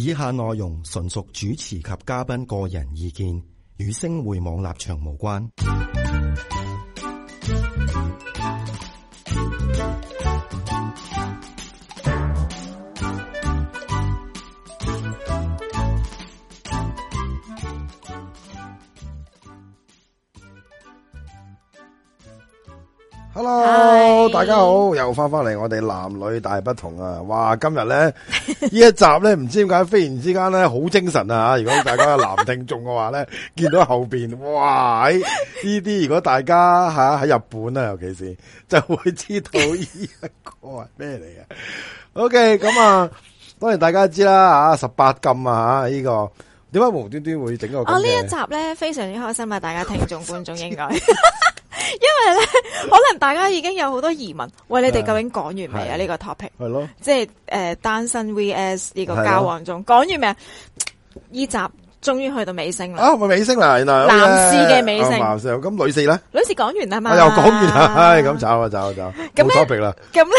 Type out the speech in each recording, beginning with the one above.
以下內容純屬主持及嘉賓個人意見，與星匯網立場無關。 Hello， 大家好，又翻嚟我哋男女大不同啊！哇，今日咧呢一集咧，唔知點解忽然之間咧好精神啊！如果大家有男聽眾嘅話咧，見到後邊，哇！呢啲如果大家喺日本啊，尤其是就會知道呢一個係咩嚟嘅。OK， 咁啊，當然大家知啦，18禁啊呢個點解無端端會整個咁嘅？ 呢一集咧非常之開心啊！大家聽眾觀眾應該。因為咧，可能大家已經有好多疑問，喂，你哋究竟講完未啊？呢個 topic 係咯，即係單身 VS 呢個交往中講完未啊？呢集終於去到尾聲啦！ 咪尾聲啦，原來男士嘅尾聲。 咁女士咧？ 女士講完啦嘛？ 又講完啦，咁走冇 topic 啦。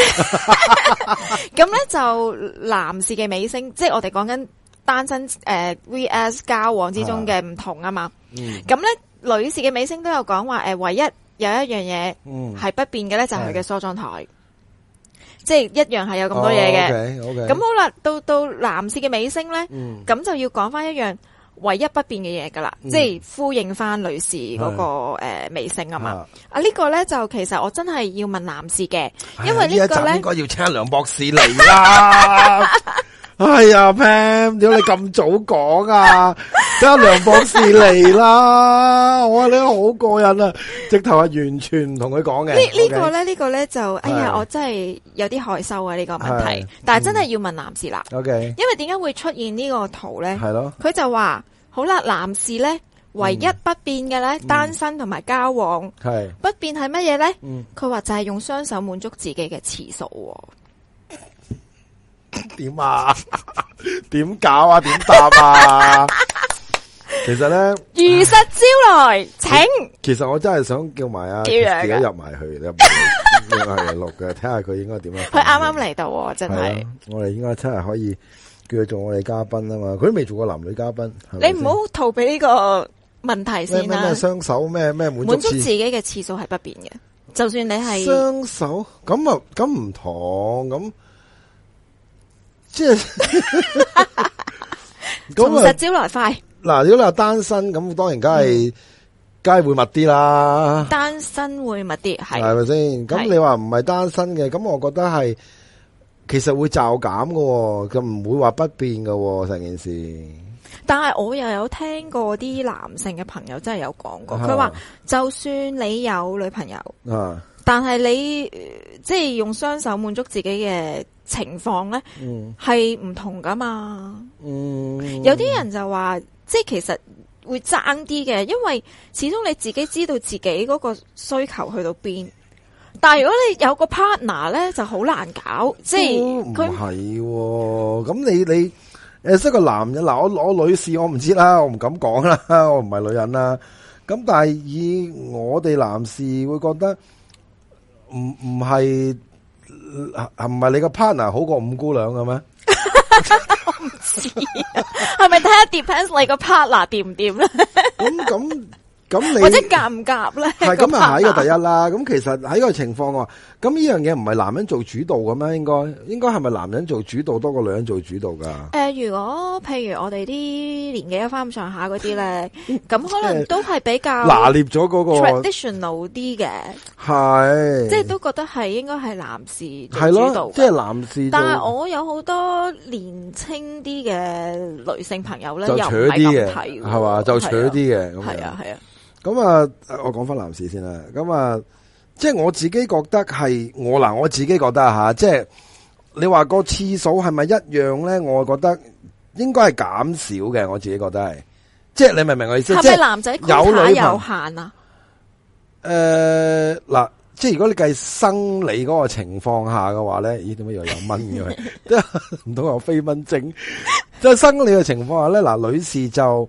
咁咧就男士嘅尾聲，即係我哋講緊單身VS 交往之中嘅唔同啊嘛。咁咧女士嘅尾聲都有講話唯一。有一樣嘢係不變嘅咧，就係佢嘅梳妝台，即係一樣係有咁多嘢嘅。咁好啦，到男士嘅尾聲咧，咁就要講翻一樣唯一不變嘅嘢噶啦，即係呼應翻女士嗰個尾聲啊嘛。呢個咧就其實我真係要問男士嘅，因為呢個咧應該要請梁博士嚟啦。哎呀 Pam， 點解你咁早講啊？等梁博士嚟啦！我話你好過癮啊，直頭係完全唔同佢講嘅。呢個咧就，哎呀，我真係有啲害羞啊呢個問題，但係真係要問男士啦。因為點解會出現呢個圖咧？係咯，佢就話好啦，男士咧唯一不變嘅咧，單身同埋交往係不變係乜嘢咧？佢話就係用雙手滿足自己嘅次數。點啊？點搞啊？點答啊？其實咧， 如實招來，請。 其實我真係想叫埋自己入埋去，入埋錄嘅，睇下佢應該點樣。 佢啱啱嚟到，真係。 我哋應該真係可以叫佢做我哋嘉賓啊嘛。佢都未做過男女嘉賓。 你唔好逃避呢個問題先啦。 咩雙手咩滿足自己嘅次數係不變嘅，就算你係雙手咁唔同咁。即係從實招來快。 嗱，如果你話單身咁，當然梗係會密啲啦。 單身會密啲，係咪先？咁你話唔係單身嘅，咁我覺得係其實會驟減嘅，咁唔會話不變嘅成件事。 但係我又有聽過啲男性嘅朋友真係有講過，佢話就算你有女朋友，但係你即係用雙手滿足自己嘅情況咧，係唔同噶嘛。有啲人就話，即係其實會爭啲嘅，因為始終你自己知道自己嗰個需求去到邊。但係如果你有個 partner 咧，就好難搞。即係佢唔係， 咁你識個男人嗱，我女士我唔知啦，我唔敢講啦，我唔係女人啦。咁但係以我哋男士會覺得。唔係你個 partner 好過五姑娘嘅咩？ 我唔知係咪睇下 depends 你個 partner 掂唔掂咧？咁你或者夾唔夾咧？ 係咁啊，係呢個第一啦。咁其實喺個情況話，咁呢樣嘢唔係男人做主導嘅咩？應該係咪男人做主導多過女人做主導噶？ 如果譬如我哋啲年紀一翻咁上下嗰啲咧，咁可能都係比較拿捏咗嗰個 traditional 啲嘅，係即係都覺得係應該係男士做主導， 即係男士。 但係我有好多年青啲嘅女性朋友咧， 就又唔係咁睇， 係嘛？就扯啲嘅， 係啊。 咁啊，我講翻男士先啦。咁啊，即係我自己覺得係我自己覺得吓，即係你話個次數係咪一樣咧？我覺得應該係減少嘅。我自己覺得係，即係你明唔明我意思？ 係咪男仔有女有限啊？ 嗱，即係如果你計生理嗰個情況下嘅話咧，咦？點解又有蚊嘅？唔通有飛蚊症？即係生理嘅情況下咧，嗱，女士就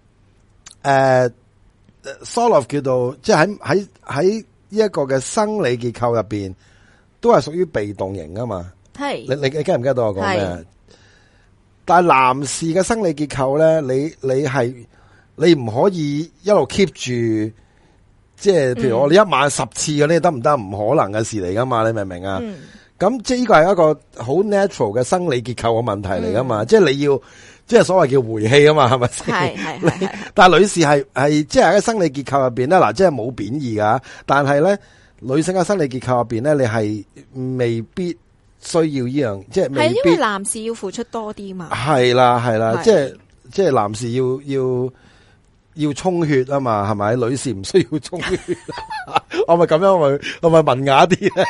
sort of 叫做即係喺呢一個嘅生理結構入邊，都係屬於被動型噶嘛。係你 get 唔 get 到我講咩？ 但係男士嘅生理結構咧，你唔可以一路 keep 住，即係譬如我哋一晚10次嗰啲得唔得？唔可能嘅事嚟噶嘛，你明唔明啊？咁即係呢個係一個好 natural 嘅生理結構嘅問題嚟噶嘛，即係你要即係所謂叫回氣啊嘛，係咪先？係。但係女士係即係喺生理結構入邊咧，嗱，即係冇貶義噶，但係咧女性嘅生理結構入邊咧，你係未必需要呢樣，即係未必。係因為男士要付出多啲嘛。係啦，即係男士要充血啊嘛，係咪？女士唔需要充血。我咪咁樣，我咪文雅啲咧。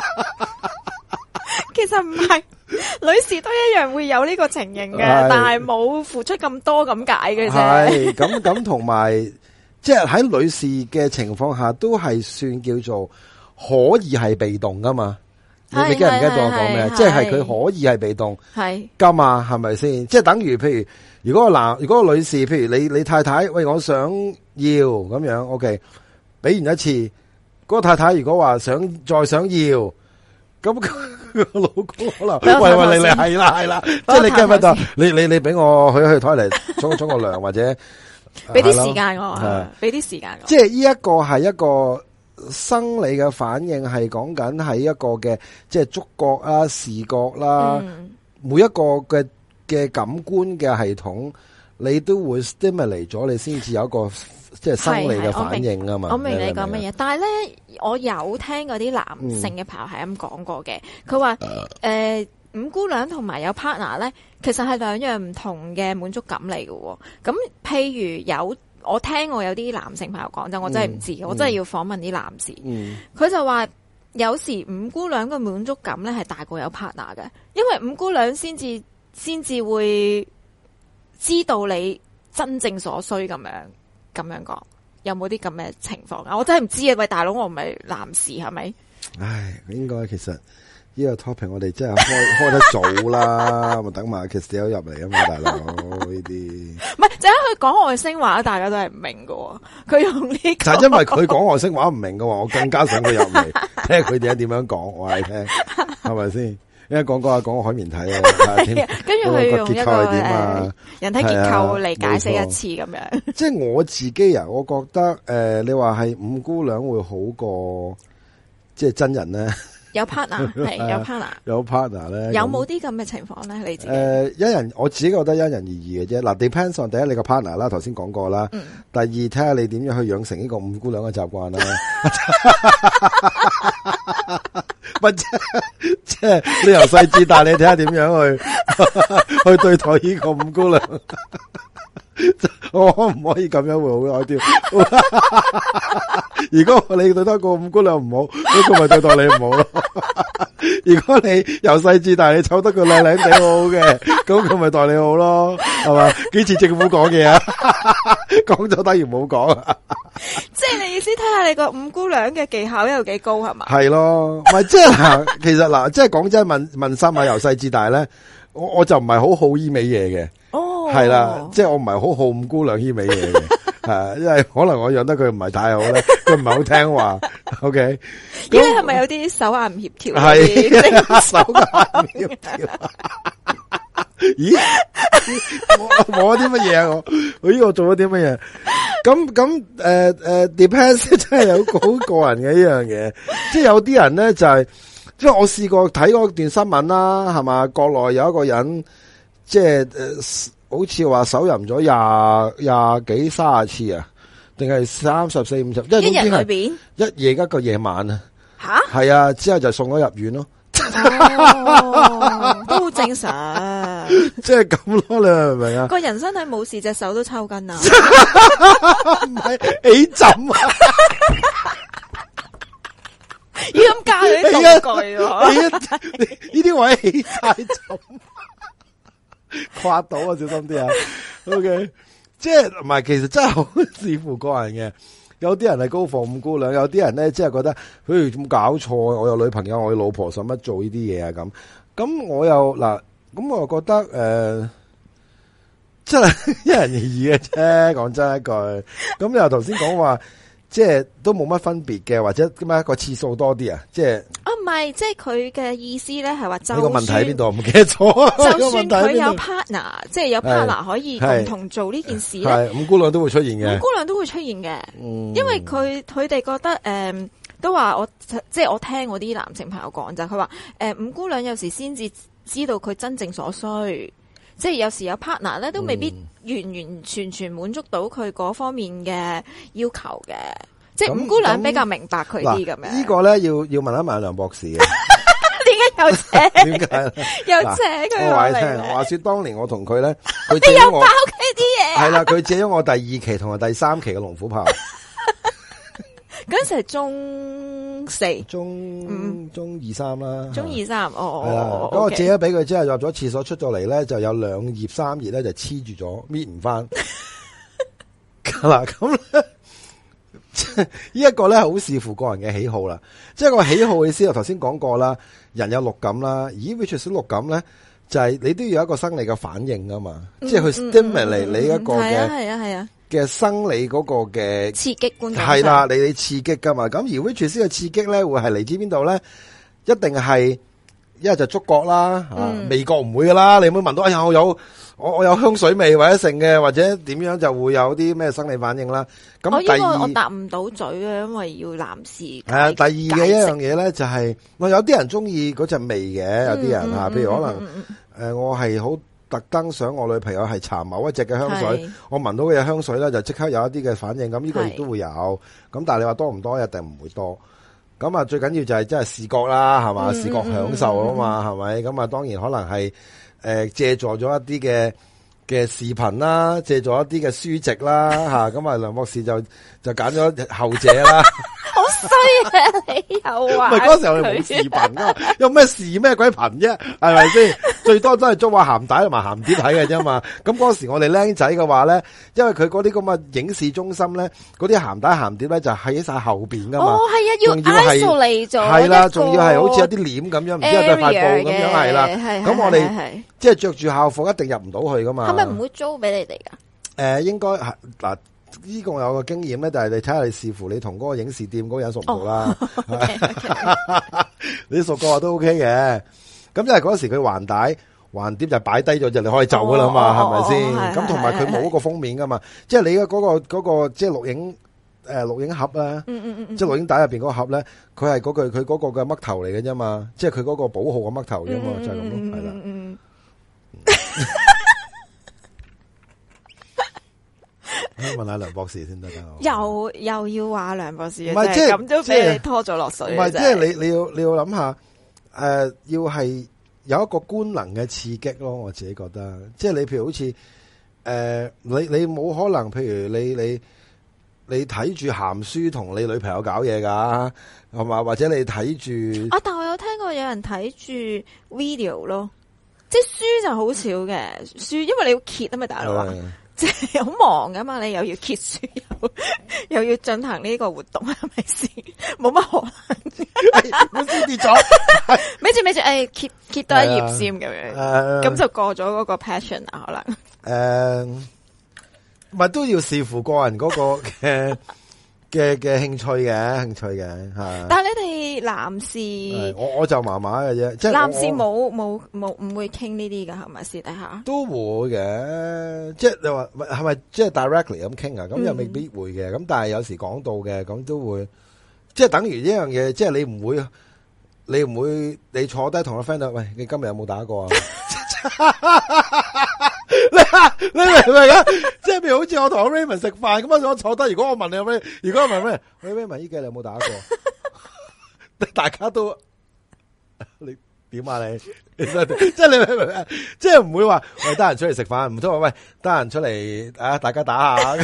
其實唔係，女士都一樣會有呢個情形嘅，但係冇付出咁多咁解嘅啫。 係咁同埋，即係喺女士嘅情況下，都係算叫做可以係被動噶嘛。你記唔記得我講咩？即係佢可以係被動，係噶嘛？係咪先？即係等於譬如，如果個女士，譬如你太太，喂，我想要咁樣 ，OK， 俾完一次，嗰個太太如果話再想要，咁個老公可能喂你係啦，即係你驚乜就你俾我去台嚟沖個涼或者俾啲時間我，俾啲時間我。 即係呢一個係一個生理嘅反應，係講緊係一個嘅即係觸覺啦、視覺啦，每一個嘅感官嘅系統，你都會 stimulate 咗，你先至有一個即係生理嘅反應啊嘛。 我明你講乜嘢，但係咧，我有聽嗰啲男性嘅朋友係咁講過嘅，佢話五姑娘同埋有 partner 咧，其實係兩樣唔同嘅滿足感嚟嘅。咁譬如我聽我有啲男性朋友講，就我真係唔知，我真係要訪問啲男士。佢就話有時五姑娘嘅滿足感咧係大過有 partner 嘅，因為五姑娘先至會知道你真正所需咁樣講。有冇啲咁嘅情況啊？我真係唔知啊！喂，大佬，我唔係男士係咪？ 唉，應該其實呢個 topic 我哋真係開得早啦，咪等埋 Kiss 入嚟啊嘛，大佬呢啲。唔係， 就係佢講外星話，大家都係唔明㗎。佢用呢個， 就係因為佢講外星話唔明嘅話，我更加想佢入嚟，聽佢哋點樣講，我係聽，係咪先？因為講海綿體啊， 跟住佢用一個人體結構嚟解釋一次咁樣。 即係我自己啊，我覺得你話係五姑娘會好過即係真人咧。 有 partner 係有 partner 咧， 有冇啲咁嘅情況咧？你自己我自己覺得因人而異嘅啫。嗱，depends on 第一你個 partner 啦，頭先講過啦。第二睇下你點樣去養成呢個五姑娘嘅習慣啦。即係你由細至大，你睇下點樣去對待呢個五姑娘。我可唔可以咁樣會好啲？如果你對得個五姑娘唔好，咁佢咪對待你唔好咯。如果你由細至大你湊得佢靚靚地好好嘅，咁佢咪待你好咯，係嘛？幾次政府講嘢啊？講咗等於冇講啊！ 即係你意思睇下你個五姑娘嘅技巧有幾高係嘛？ 係咯，唔係即係其實嗱，即係講真問心啊，由細至大咧，我就唔係好呢味嘢嘅。係啦，即係我唔係好好五姑娘呢味嘢嘅，係因為可能我養得佢唔係太好咧，佢唔係好聽話。OK， 咦，你係咪有啲手眼唔協調？ 係手眼唔協調。咦，我啲乜嘢啊？我呢個做咗啲乜嘢？咁depends 真係有好個人嘅呢樣嘢，即係有啲人咧就係，即係我試過睇嗰段新聞啦，係嘛？國內有一個人即係好似話手淫咗廿幾30次啊，定係34、50？ 一日裏邊一夜一個夜晚啊？ 吓？ 係啊，之後就送咗入院咯。 都好正常， 即係咁咯，你明唔明啊？ 個人身體冇事，隻手都抽筋啊！ 唔係起枕啊！ 要咁教你啲道具喎， 呢啲位起晒枕。跨到啊，小心啲啊 ！OK， 即係唔係，其實真係好視乎個人嘅。有啲人係高房五姑娘，有啲人咧即係覺得，佢咁搞錯，我有女朋友，我有老婆，使乜做呢啲嘢啊？咁我又嗱，咁我又覺得真係因人而異嘅啫。講真一句，咁你又頭先講話，即係都冇乜分別嘅，或者點解個次數多啲啊？即係唔係，即係佢嘅意思咧，係話就呢個問題喺邊度？唔記得咗。 就算佢有 partner，即係有 partner 可以共同做呢件事咧， 五姑娘都會出現嘅。 五姑娘都會出現嘅，因為佢哋覺得都話即係我聽我啲男性朋友講就係佢話五姑娘有時先至知道佢真正所需。即係有時有 partner 咧，都未必完全滿足到佢嗰方面嘅要求嘅。即係五姑娘比較明白佢啲咁樣。 呢個咧要問一問梁博士嘅。 點解又扯？ 點解？ 又扯佢我話你聽，話說當年我同佢咧，佢借咗我，爆佢啲嘢。 係啦，佢借咗我第2期同埋第3期嘅龍虎豹。 嗰陣時係中4、 中2、3啦。 中2、3， 係啦，咁我借咗俾佢之後，入咗廁所出咗嚟咧，就有2頁3頁咧就黐住咗，搣唔翻。嗱，咁咧。呢一個咧好視乎個人嘅喜好啦，即係個喜好嘅意思，我頭先講過啦，人有六感啦，而 which 小六感咧就係你都要有一個生理嘅反應噶嘛，即係去 stimulate 你一個嘅嘅生理嗰個嘅刺激觀感係啦，你刺激噶嘛，咁而 which 嘅刺激咧會係嚟自邊度咧？一定係一係就觸覺啦，味覺唔會噶啦，你唔會聞到哎呀我有香水味或者剩嘅，或者點樣就會有啲咩生理反應啦。咁第二我答唔到嘴啊，因為要男士。 係啊，第二嘅一樣嘢咧就係，有啲人中意嗰陣味嘅，有啲人吓，譬如可能我係好特登想我女朋友係搽某一隻嘅香水，我聞到嘅香水咧就即刻有一啲嘅反應，咁呢個亦都會有。咁但係你話多唔多，一定唔會多。咁啊，最緊要就係真係視覺啦，係嘛，視覺享受啊嘛，係咪？咁啊，當然可能係。借助咗一啲嘅視頻啦，借助一啲嘅書籍啦，吓咁啊，梁博士就揀咗後者啦。 好衰啊！你又話唔係嗰時候你冇視頻噶，有咩視咩鬼頻啫？係咪先？最多都係租下鹹帶同埋鹹碟睇嘅啫嘛。咁嗰時我哋僆仔嘅話咧，因為佢嗰啲咁嘅影視中心咧，嗰啲鹹帶鹹碟咧就喺晒後邊噶嘛。 哦，係啊，要 isolate 咗。 係啦，仲要係好似有啲簾咁樣，唔知係對塊布咁樣係啦。咁我哋即係着住校服一定入唔到去噶嘛。 係咪唔會租俾你哋噶？ 應該係嗱。呢個我有個經驗咧，但係你睇下你視乎你同嗰個影視店嗰個人熟唔熟啦。你熟嘅話都 OK 嘅。咁因為嗰時佢橫碟就擺低咗就你可以走噶啦嘛，係咪先？咁同埋佢冇嗰個封面噶嘛，即係你嘅嗰個即係錄影盒啦，即係錄影帶入邊嗰個盒咧，佢係佢嗰個嘅嘜頭嚟嘅啫嘛，即係佢嗰個保號嘅嘜頭啫嘛，就係咁咯，係啦。問下梁博士先得噶， 又要話梁博士， 唔係即係咁都俾你拖咗落水。 唔係即係你要諗下，要係有一個官能嘅刺激咯。我自己覺得，即係你譬如好似你冇可能，譬如你睇住鹹書同你女朋友搞嘢噶，係嘛？或者你睇住但我有聽過有人睇住 video 咯，即係書就好少嘅書，因為你要揭啊嘛，大佬啊。即係好忙噶嘛，你又要揭書，又要進行呢個活動，係咪先？冇乜可能。 我先跌咗， 咪住，揭多一頁先咁樣，咁就過咗嗰個 passion 啊，可能。 咪都要視乎個人嗰個嘅興趣嘅吓。 但係你哋男士， 我就麻麻嘅啫，即係男士冇唔會傾呢啲噶，係咪私底下？ 都會嘅，即係你話係咪即係 directly 咁傾啊？咁又未必會嘅，咁但係有時講到嘅，咁都會，即係等於呢樣嘢，即係你唔會你坐低同個 friend 喂，你今日有冇打過啊？你明唔明啊？即係譬如好似我同 Raymond 食飯咁啊，我坐低，如果我問你有咩，如果我問咩，Raymond 依幾日你有冇打過？大家都你點啊你？即係你明唔明？即係唔會話喂得閒出嚟食飯，唔通話喂得閒出嚟啊？大家打下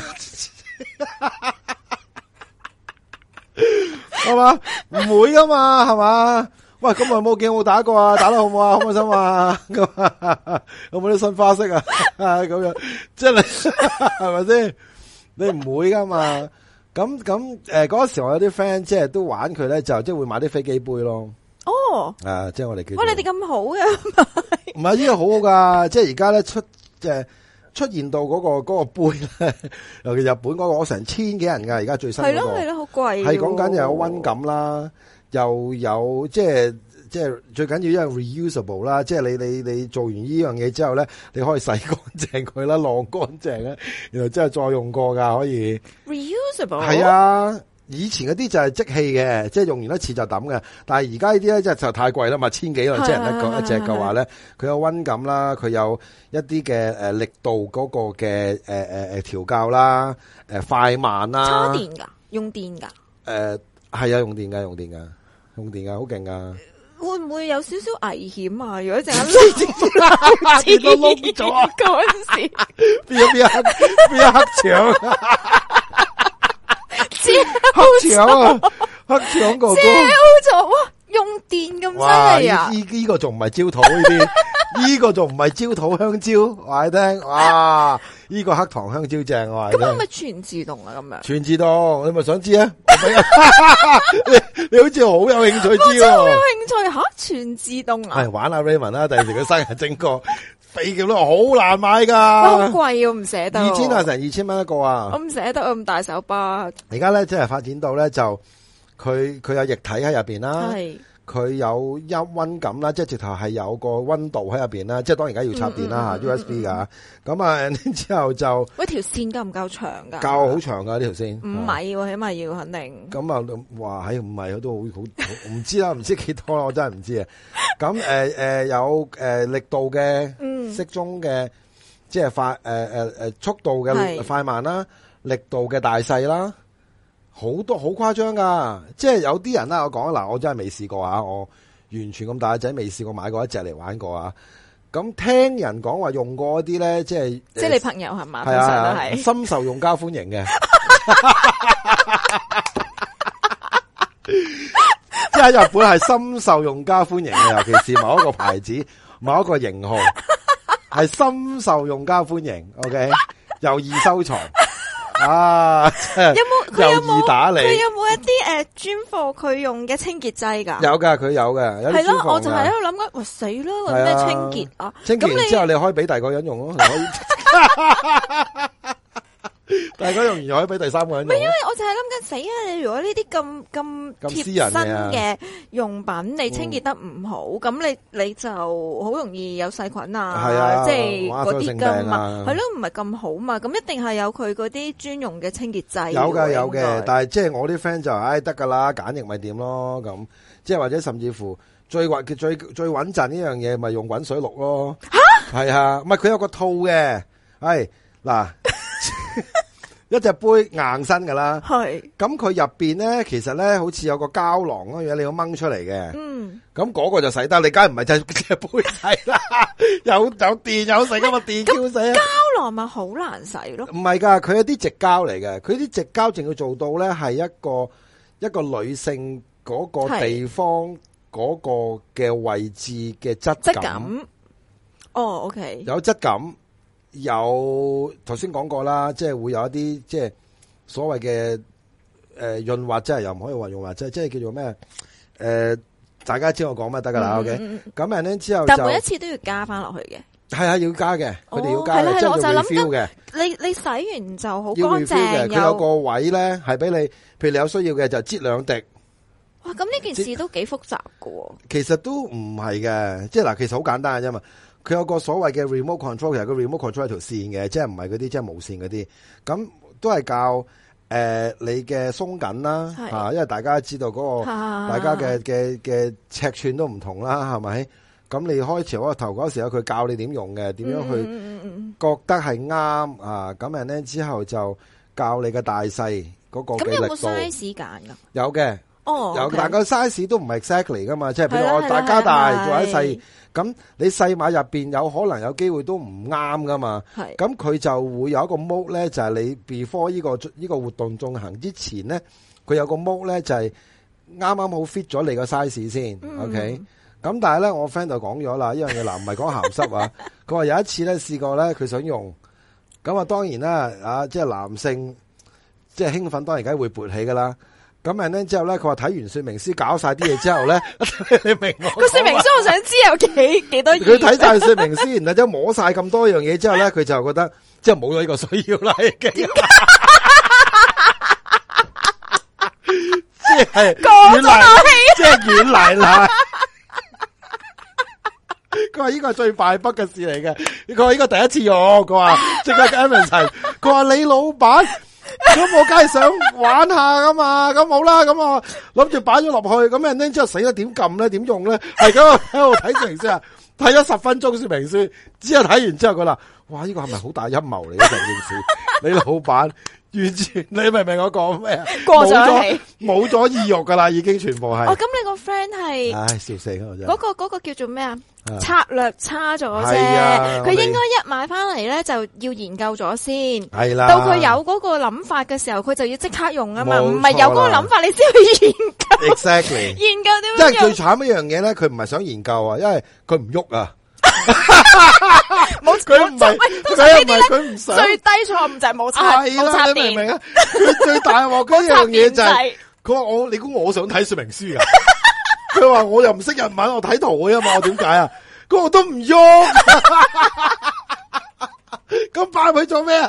係嘛？唔會噶嘛，係嘛？喂，咁耐冇見，我打過啊，打得好唔好啊？開唔開心啊？咁有冇啲新花式啊？咁樣，即係你係咪先？你唔會噶嘛？咁嗰時我有啲 friend 即係都玩佢咧，就即係會買啲飛機杯咯。 哦， 即係我哋叫。 你哋咁好嘅， 唔係呢個好噶，即係而家咧出現到嗰個杯咧，尤其日本嗰個，我成千幾人噶，而家最新嗰個係咯，好貴。 係講緊又有溫感啦。 又有即係最緊要因為 reusable 啦，即係你做完呢樣嘢之後咧，你可以洗乾淨佢啦，晾乾淨啦，然後之後再用過噶，可以 reusable 係啊。以前嗰啲就係即棄嘅，即係用完一次就抌嘅。但係而家呢啲咧，即係就太貴啦嘛，1000幾啦，即係一隻嘅話咧，佢有溫感啦，佢有一啲嘅力度嗰個嘅調校啦，快慢啦。 叉電㗎，用電㗎。 係啊，用電㗎，好勁㗎。 會唔會有少少危險啊？如果陣間跌到窿咗啊！ 嗰陣時邊一黑牆？黑牆啊！黑牆哥哥， 咗哇！用電咁犀利啊！ 呢個仲唔係焦土呢啲？呢個仲唔係焦土香蕉？話你聽，哇！呢個黑糖香蕉正，我話你聽。 咁係咪全自動啊？咁樣全自動，你咪想知啊？你好似好有興趣知喎。 好有興趣吓，全自動啊！ 係玩下 Raymond 啦，第時佢生日整個飛劍都好難買噶， 好貴啊，唔捨得。 2000啊，成2000蚊一個啊！ 我唔捨得啊，咁大手巴。 而家咧，即係發展到咧，就佢有液體喺入邊啦， 係佢有溫感啦，即係直頭係有個溫度喺入邊啦，即係當然而家要插電啦吓 USB 噶，咁啊之後就喂條線夠唔夠長噶？ 夠好長噶呢條線 5米喎，起碼要肯定。 咁啊，話喺5米都好唔知啦，唔知幾多啦，我真係唔知啊。咁有力度嘅適中嘅，即係快速度嘅快慢啦，力度嘅大細啦。好多好誇張噶，即係有啲人啦，我講嗱，我真係未試過啊，我完全咁大仔未試過買過一隻嚟玩過啊。咁聽人講話用過一啲咧，即係你朋友係嘛？ 係啊，深受用家歡迎嘅，即係喺日本係深受用家歡迎嘅，尤其是某一個牌子、某一個型號係深受用家歡迎。OK， 又易收藏。啊！有易打理。 佢有冇一啲專貨佢用嘅清潔劑㗎？ 有㗎，佢有嘅。 係咯，我就係喺度諗緊，哇死啦！揾咩清潔啊？ 清潔完之後，你可以俾第二個人用咯，可以。大家用完又可以俾第三個人用。 唔係，因為我就係諗緊死啊！你如果呢啲咁貼身嘅用品，你清潔得唔好，咁你就好容易有細菌啊，即係嗰啲㗎嘛。係咯，唔係咁好嘛。咁一定係有佢嗰啲專用嘅清潔劑。 有嘅，但係即係我啲 friend 就得㗎啦，簡易咪掂咯咁。即係或者甚至乎最穩陣呢樣嘢，咪用滾水渌咯。嚇！係啊，唔係佢有個套嘅，係嗱。一隻杯硬身噶啦，係咁佢入邊咧，其實咧好似有個膠囊嗰樣，你要掹出嚟嘅。咁嗰個就洗得，你梗係唔係就隻杯洗啦？有電有洗噶嘛？電叫洗啊！ 膠囊咪好難洗咯？ 唔係噶，佢有啲直膠嚟嘅，佢啲直膠淨要做到咧係一個女性嗰個地方嗰個嘅位置嘅質感。 哦 ，OK， 有質感。有頭先講過啦，即係會有一啲即係所謂嘅潤滑劑，又唔可以話潤滑劑，即係叫做咩？大家知我講乜得噶啦 ？OK， 咁然之後就但每一次都要加翻落去嘅， 係啊，要加嘅，佢哋要加嘅，即係要 refill 嘅。 你洗完就好要 refill 嘅，佢有個位咧係俾你，譬如你有需要嘅就擠2滴。 哇，咁呢件事都幾複雜噶喎。 其實都唔係嘅，即係嗱，其實好簡單嘅啫嘛。佢有個所謂嘅 remote control， 其實個 remote control 係條線嘅，即係唔係嗰啲即係無線嗰啲，咁都係教你嘅鬆緊啦嚇，因為大家知道嗰個大家嘅尺寸都唔同啦，係咪？咁你開始嗰頭嗰時候，佢教你點用嘅，點樣去覺得係啱啊？咁然咧之後就教你嘅大細嗰個嘅力度。咁有冇 size 揀㗎？有嘅。 哦， 有，但個 size 都唔係 exactly 噶嘛，即係譬如我大加大做喺細，咁你細碼入邊有可能有機會都唔啱噶嘛，咁佢就會有一個 mode 咧，就係你 before 呢個活動進行之前咧，佢有個 mode 咧就係啱啱好 fit 咗你個 size 先，OK，咁但係咧我 friend 就講咗啦，呢樣嘢嗱唔係講鹹濕啊，佢話有一次咧試過咧佢想用，咁啊當然啦啊即係男性即係興奮當然梗係會勃起噶啦。咁然咧之後咧，佢話睇完說明書搞晒啲嘢之後咧，你明我個說明書我想知有幾多頁？ 佢睇晒說明書，然後之後摸晒咁多樣嘢之後咧，佢就覺得即係冇咗呢個需要啦，已經。即即係過咗軟奶套戲， 即係軟奶奶。佢話呢個係最敗筆嘅事嚟嘅，佢話呢個第一次用，佢話即刻 Evan 齊，佢話你老闆，咁我梗係想玩下噶嘛，咁好啦，咁我諗住擺咗落去，咁人哋之後死啦，點撳咧，點用咧，係咁喺度睇說明書啊，睇咗10分鐘說明書，之後睇完之後佢話，哇，呢個係咪好大陰謀嚟嘅成件事？你老闆。完全，你明唔明我講咩啊？ 過咗氣， 冇咗意欲噶啦，已經全部係。 哦，咁你個 friend 係， 唉，笑死我真係。 嗰個叫做咩啊？策略差咗啫， 係啊佢應該一買翻嚟咧就要研究咗先。 係啦。 到佢有嗰個諗法嘅時候，佢就要即刻用啊嘛， 冇錯啦唔係有嗰個諗法你先去研究。 Exactly。 研究點即樣用？ 係最慘一樣嘢咧，佢唔係想研究啊，因為佢唔喐啊。 冇佢唔係， 通常呢啲咧佢唔想。 最低錯誤就係冇插係啦， 冇插你明唔明電， 啊？佢最大鑊嗰樣嘢就係係， 佢話你估我想睇說明書啊？佢話我又唔識日文，我睇圖嘅嘛，我點解啊？佢話我都唔喐，咁擺佢做咩啊？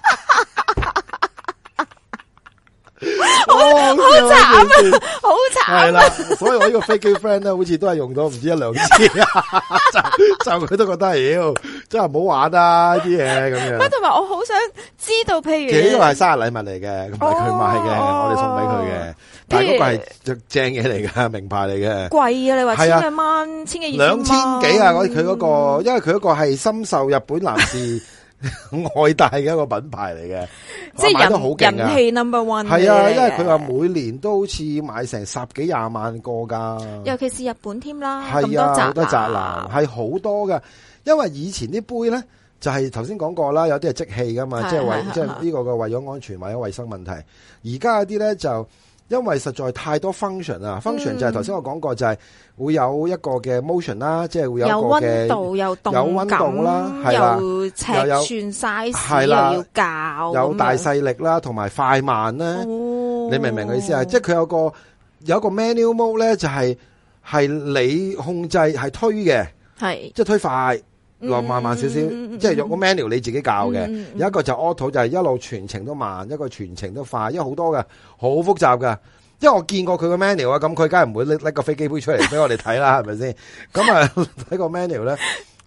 好慘啊，好慘係啦，所以我呢個飛機 friend 咧，好似都係用咗唔止1、2次啊，就佢都覺得，妖真係唔好玩啊啲嘢咁樣。 喂，同埋我好想知道，譬如其實呢個係生日禮物嚟嘅，唔係佢買嘅，我哋送俾佢嘅。但係嗰個係正嘢嚟嘅，名牌嚟嘅。 貴啊！你話係啊千幾蚊，千幾 2000幾啊！佢嗰個，因為佢嗰個係深受日本男士愛戴嘅一個品牌嚟嘅， 即買得好勁啊！ 係人氣 number one。 係啊，因為佢話每年都好似買成10幾20萬個㗎。 尤其是日本添啦， 係啊， 咁好多宅男係好多㗎。因為以前啲杯咧就係頭先講過啦，有啲係即棄㗎嘛，即係即係呢個嘅為咗安全或者衛生問題。而家有啲咧就因為實在太多 function 啊，function 就係頭先我講過，就係會有一個嘅 motion 啦，即係會有一個嘅有溫度、有動有溫度啦，係啦， 有尺寸 size， 係啦， 又要校， 有大細力啦，同埋快慢咧。你明唔明我意思啊？即係佢有個 manual mode 咧，就係你控制係推嘅， 係即係推快。落慢少少，即係有個 manual 你自己教嘅，有一個就 auto 就係一路全程都慢，一個全程都快，因為好多嘅，好複雜噶。因為我見過佢個 manual 啊，咁佢梗係唔會拎個飛機杯出嚟俾我哋睇啦，係咪先？咁啊睇個 manual 咧，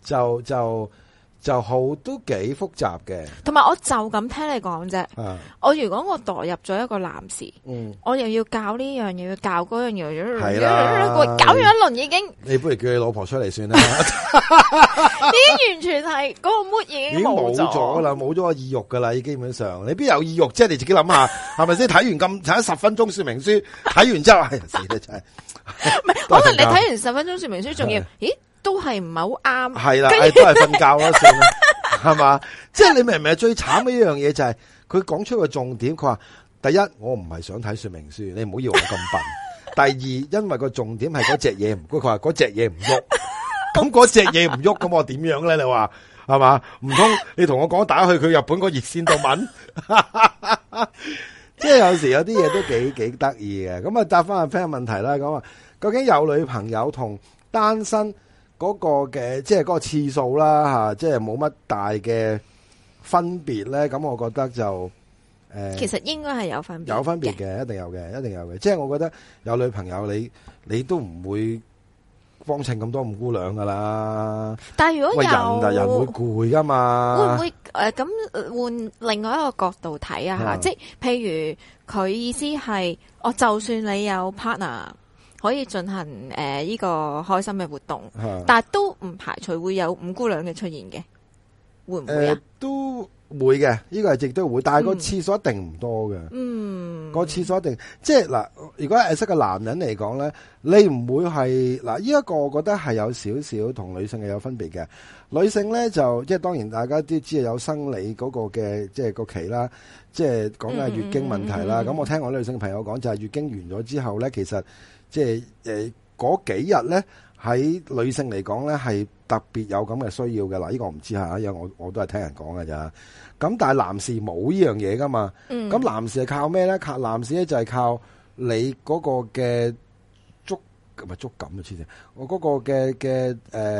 就好都幾複雜嘅。 同埋我就咁聽你講啫。我如果我代入咗一個男士，我又要教呢樣，又要教嗰樣， 係啦， 搞完一輪已經， 你不如叫你老婆出嚟算啦。 已經完全係嗰個 mood 已經冇咗啦，冇咗個意欲噶啦，基本上你邊有意欲啫？你自己諗下，係咪先？睇完睇咗10分鐘說明書，睇完之後，哎呀死啦真係。 唔係，可能你睇完10分鐘說明書，仲要，咦？都係唔係好啱， 係啦，都係瞓覺啦，算啦，係嘛？即係你明唔明？最慘嘅一樣嘢就係佢講出個重點，佢話第一，我唔係想睇說明書，你唔好以為我咁笨。第二，因為個重點係嗰隻嘢唔，佢話嗰隻嘢唔喐，咁嗰隻嘢唔喐，咁我點樣咧？你話係嘛？唔通你同我講打去佢日本個熱線度問？即係有時有啲嘢都幾得意嘅。咁啊，答翻阿 friend 問題啦。咁啊，究竟有女朋友同單身嗰個嘅即係嗰個次數啦吓，即係冇乜大嘅分別咧。咁我覺得就其實應該係有分別， 有分別嘅，一定有嘅，一定有嘅。即係我覺得有女朋友你都唔會幫襯咁多五姑娘噶啦。 但係如果人會攰噶嘛， 會唔會咁換另外一個角度睇啊吓？即係譬如佢意思係，就算你有 partner。可以進行呢個開心嘅活動，但係都唔排除會有五姑娘嘅出現嘅，會唔會啊？ 都會嘅，呢個係亦都會，但係個次數一定唔多嘅。個次數一定即係嗱，如果係識個男人嚟講咧，你唔會係嗱呢一個，我覺得係有少少同女性係有分別嘅。女性咧就即係當然大家都知係有生理嗰個嘅即係個期啦，即係講緊係月經問題啦。咁我聽我女性朋友講就係月經完咗之後咧，其實即係嗰幾日咧，喺女性嚟講咧係特別有咁嘅需要嘅。嗱，呢個我唔知吓，因為我都係聽人講嘅咋。咁但係男士冇呢樣嘢噶嘛。咁男士係靠咩咧？男士咧就係靠你嗰個嘅觸感啊！黐線，我嗰個嘅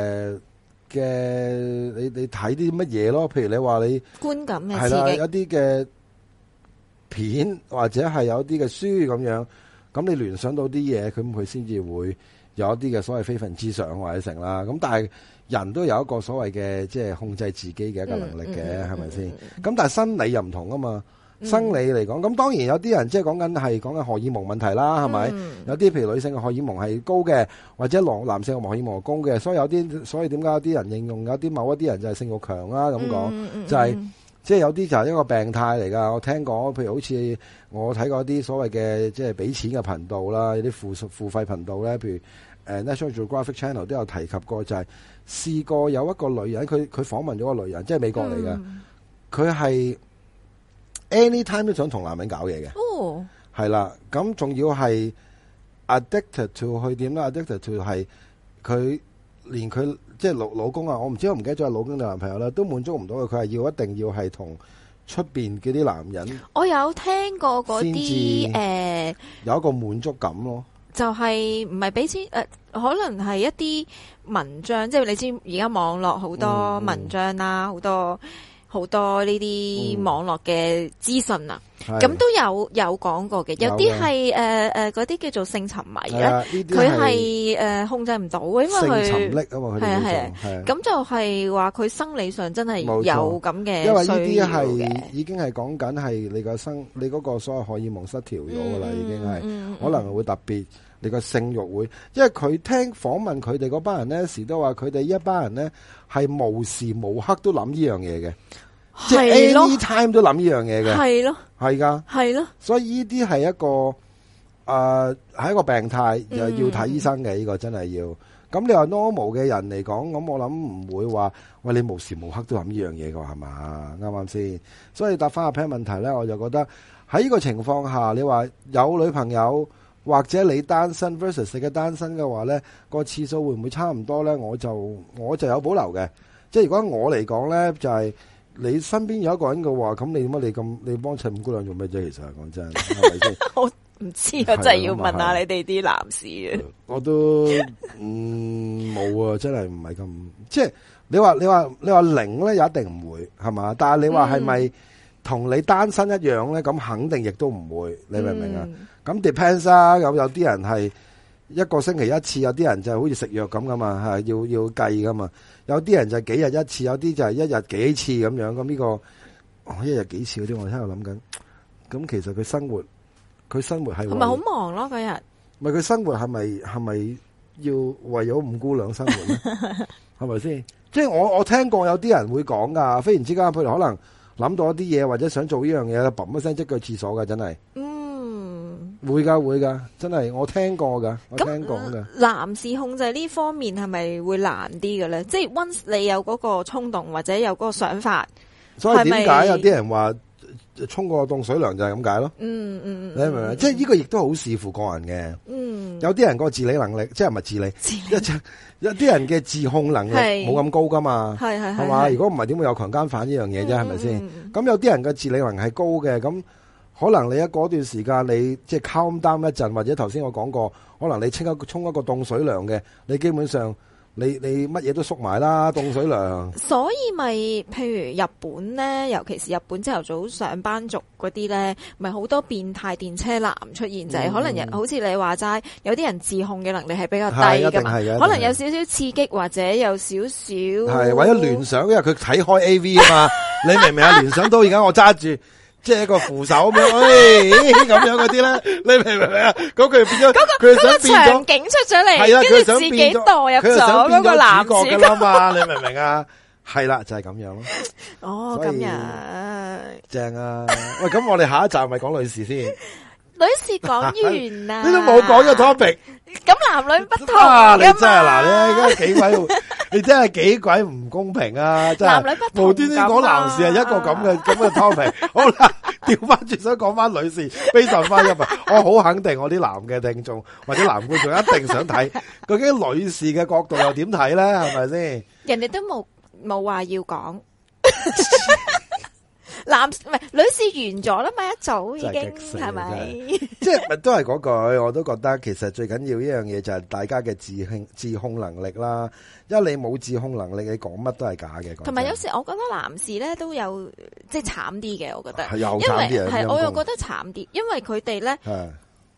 你睇啲乜嘢咯？譬如你話你觀感嘅係啦，有啲嘅片或者係有啲嘅書咁樣。 咁你聯想到啲嘢，咁佢先至會有一啲嘅所謂非分之想或者成啦。咁但係人都有一個所謂嘅即係控制自己嘅一個能力嘅，係咪先？咁但係生理又唔同啊嘛。生理嚟講，咁當然有啲人即係講緊荷爾蒙問題啦，係咪？有啲譬如女性嘅荷爾蒙係高嘅，或者男性嘅荷爾蒙係高嘅，所以點解有啲人應用有啲某一啲人就係性慾強啦咁講，就係即係有啲就係一個病態嚟㗎。我聽過，譬如好似我睇過啲所謂嘅即係俾錢嘅頻道啦，有啲付費頻道咧，譬如National Geographic Channel 都有提及過，就係試過有一個女人，佢訪問咗個女人，即係美國嚟嘅，佢係anytime 都想同男人搞嘢嘅，係啦，咁仲要係 addicted to 去點啦 ？addicted to 係佢連佢即係老公啊，我唔記得咗係老公定男朋友啦，都滿足唔到佢，佢係一定要係同出邊嗰啲男人。我有聽過嗰啲有一個滿足感咯，就係唔係俾錢可能係一啲文章，即係你知而家網絡好多文章啦，好多呢啲網絡嘅資訊啊，咁都有講過嘅，有啲係嗰啲叫做性沉迷咧，佢係控制唔到嘅，因為佢性沉溺啊嘛，佢哋係咁就係話佢生理上真係有咁嘅需要嘅，因為呢啲係已經係講緊係你嗰個所謂荷爾蒙失調咗噶啦，已經係可能會特別。你個性慾會，因為佢聽訪問佢哋嗰班人咧，時都話佢哋一班人咧係無時無刻都諗呢樣嘢嘅，即係 anytime 都諗呢樣嘢嘅，係咯，係噶，係咯，所以呢啲係一個係一個病態，又要睇醫生嘅呢個真係要。咁你話 normal 嘅人嚟講，咁我諗唔會話喂你無時無刻都諗呢樣嘢㗎係嘛？啱啱先？所以答翻阿 Pan 問題咧，我就覺得喺呢個情況下，你話有女朋友。或者你單身 versus 你嘅單身嘅話咧，個次數會唔會差唔多咧？我就有保留嘅。即係如果我嚟講咧，就係你身邊有一個人嘅話，咁你點解你幫襯五姑娘做咩啫？其實講真，係咪先？我唔知啊，真係要問下你哋啲男士嘅。我都冇啊，真係唔係咁。即係你話零咧，又一定唔會係嘛？但係你話係咪同你單身一樣咧？咁肯定亦都唔會。你明唔明啊？咁 depends 啊，有啲人係一個星期一次，有啲人就係好似食藥咁噶嘛，係要計噶嘛。有啲人就係幾日一次，有啲就係一日幾次咁樣。咁呢個一日幾次嗰啲，我喺度諗緊。咁其實佢生活係咪好忙咯？嗰日咪佢生活係咪要為咗五姑娘生活咧？係咪先？即係我聽過有啲人會講噶，忽然之間佢哋可能諗到一啲嘢，或者想做呢樣嘢，砰一聲即去廁所噶，真係。會噶，真係我聽過噶，我聽講噶。男士控制呢方面係咪會難啲嘅咧？即係 once 你有嗰個衝動或者有嗰個想法，所以點解有啲人話沖個凍水涼就係咁解咯？你明唔明？即係呢個亦都好視乎個人嘅。有啲人個自理能力，即係唔係自理，有啲人嘅自控能力冇咁高噶嘛，係嘛？如果唔係點會有強姦犯呢樣嘢啫？係咪先？咁有啲人嘅自理能力係高嘅，咁。可能你一嗰段時間你即係 calm down 一陣，或者頭先我講過，可能你沖一個凍水涼嘅，你基本上你乜嘢都縮埋啦，凍水涼。所以咪譬如日本咧，尤其是日本朝頭早上班族嗰啲咧，咪好多變態電車男出現，就係可能好似你話齋，有啲人自控嘅能力係比較低噶嘛，可能有少少刺激或者有少少係或者聯想，因為佢睇開 AV 啊嘛，你明唔明啊？聯想到而家我揸住。即係一個扶手咁樣，咁樣嗰啲咧，你明唔明啊？嗰句變咗，佢想變咗場景出咗嚟，跟住自己代入咗嗰個男主角噶啦嘛？你明唔明啊？係啦，就係咁樣咯。哦，咁樣正啊！喂，咁我哋下一集咪講女士先。女士講完啦，你都冇講個 topic。咁男女不同噶嘛？你真係嗱，你而家幾鬼，你真係幾鬼唔公平啊！真係男女不同，無端端講男士係一個咁嘅 topic。好啦，調翻轉想講翻女士，非常翻入啊！我好肯定我啲男嘅聽眾或者男觀眾一定想睇，究竟女士嘅角度又點睇咧？係咪先？人哋都冇話要講。唔係女士完咗啦嘛，一早已經係咪？即係都係嗰句，我都覺得其實最緊要一樣嘢就係大家嘅自控能力啦。因為你冇自控能力，你講乜都係假嘅。同埋有時我覺得男士咧都有即係慘啲嘅，我覺得。係又慘啲，係我又覺得慘啲，因為佢哋咧。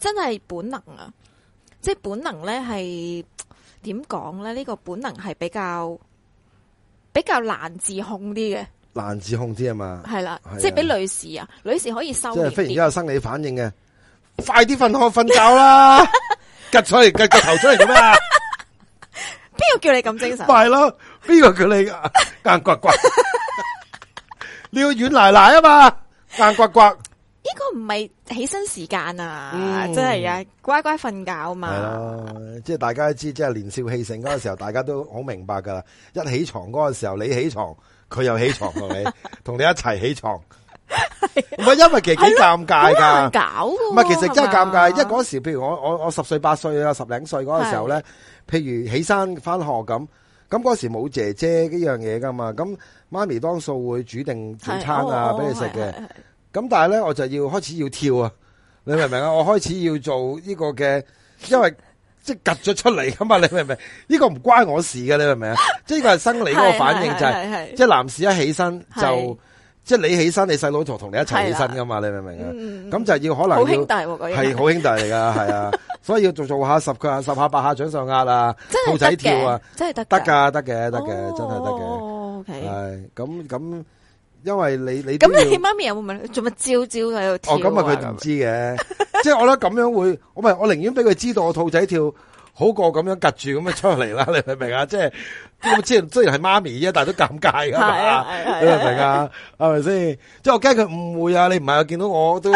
真係本能啊，即係本能咧係點講咧？呢個本能係比較難自控啲嘅。 難自控啲啊嘛， 係啦，即係俾女士啊，女士可以收斂啲， 即係忽然之間有生理反應嘅，快啲瞓覺啦，趌出嚟，趌個頭出嚟做咩啊？ 邊個叫你咁精神？ 係咯，邊個叫你硬刮刮？你要軟奶奶啊嘛，硬刮刮。 呢個唔係起身時間啊，真係啊，乖乖瞓覺啊嘛。 係咯，即係大家都知，即係年少氣盛嗰個時候，大家都好明白噶啦。一起床嗰個時候，你起床，佢又起床同你，同你一齊起床。唔係因為其實幾尷尬噶， 搞唔係其實真係尷尬，因為嗰時譬如我10歲8歲啊，10零歲嗰個時候咧，譬如起身翻學咁嗰時冇姐姐呢樣嘢噶嘛，咁媽咪當數會煮定早餐啊俾你食嘅。咁但係咧，我就要開始要跳啊！你明唔明啊？我開始要做呢個嘅，因為即係趌咗出嚟噶嘛，你明唔明？呢個唔關我事嘅，你明唔明啊？即係呢個係生理嗰個反應，就係即係男士一起身就即係你起身，你細佬同你一齊起身噶嘛，你明唔明啊？咁就要可能要好兄弟喎， 係好兄弟嚟噶，係啊，所以要做下10下8下掌上壓啊，兔仔跳啊， 真係得嘅，真係得嘅，係咁。因為你咁你媽咪有冇問你做乜朝喺度跳？ 咁啊佢唔知嘅，即係我覺得咁樣會，我寧願俾佢知道我兔仔跳，好過咁樣夾住咁樣出嚟啦，你明唔明啊？即係雖然係媽咪啫，但係都尷尬噶嘛，你明唔明啊？係咪先？即係我驚佢誤會啊！你唔係見到我都，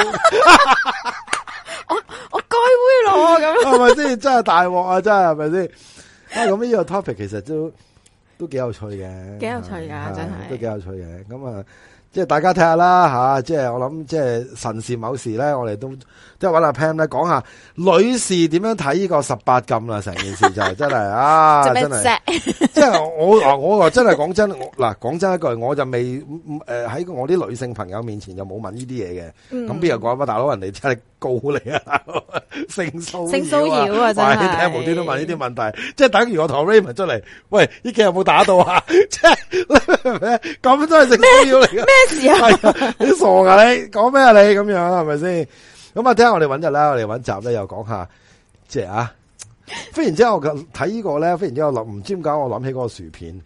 我該會咯咁， 係咪先？真係大鑊啊！真係係咪先？咁呢個 topic 其實都幾有趣嘅， 幾有趣噶，真係都幾有趣嘅。咁啊，即係大家睇下啦吓，即係我諗，即係神時某時咧，我哋都即係揾阿 Pam 咧講下女士點樣睇呢個18禁啦，成件事就係真係啊，真係，即係我真係講真，講真一句，我就未喺我啲女性朋友面前就冇問呢啲嘢嘅，咁邊有講乜大佬，人哋真係告你啊，性騷擾啊，真係，你聽無端端問呢啲問題，即係等於我同 Raymond 出嚟，喂，呢幾日有冇打到啊？即係你明唔明？咁真係性騷擾嚟嘅，咩事啊？你傻噶你？講咩啊你？咁樣係咪先？咁啊，聽下我哋搵日啦，我哋搵集咧又講下，即係啊！忽然之間我睇呢個咧，忽然之間我唔知點解我諗起嗰個薯片，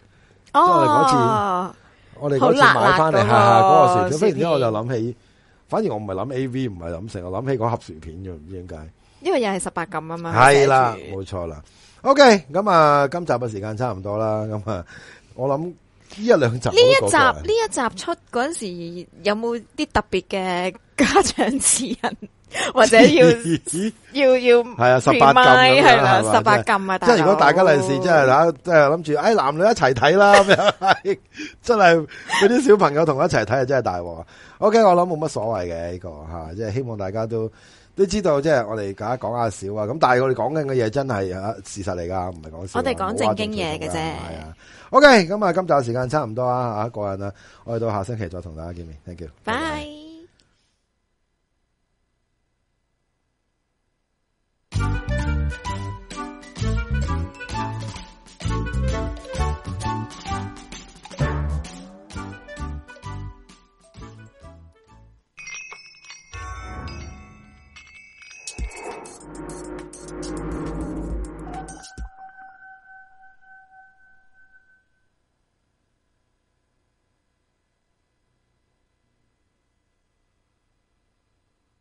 我哋嗰次買翻嚟嗰個薯片，忽然之間我就諗起，反而我唔係諗 AV， 唔係諗成，我諗起嗰盒薯片啫，唔知點解。因為又係18禁啊嘛。 係啦，冇錯啦。OK，咁啊，今集嘅時間差唔多啦。咁啊，我諗呢一兩集呢一集出嗰陣時，有冇啲特別嘅家長指引？或者要係啊18禁係啦18禁啊！ 即係如果大家利是即係即係諗住男女一齊睇啦咁樣，真係俾啲小朋友同我一齊睇啊，真係大鑊啊 ！OK， 我諗冇乜所謂嘅呢個吓，即係希望大家都知道，即係我哋大家講下少啊。咁但係我哋講緊嘅嘢真係事實嚟噶，唔係講笑。 我哋講正經嘢嘅啫。係啊。OK，咁啊，今集時間差唔多啊，過癮啦，我哋到下星期再同大家見面。Thank you。 拜。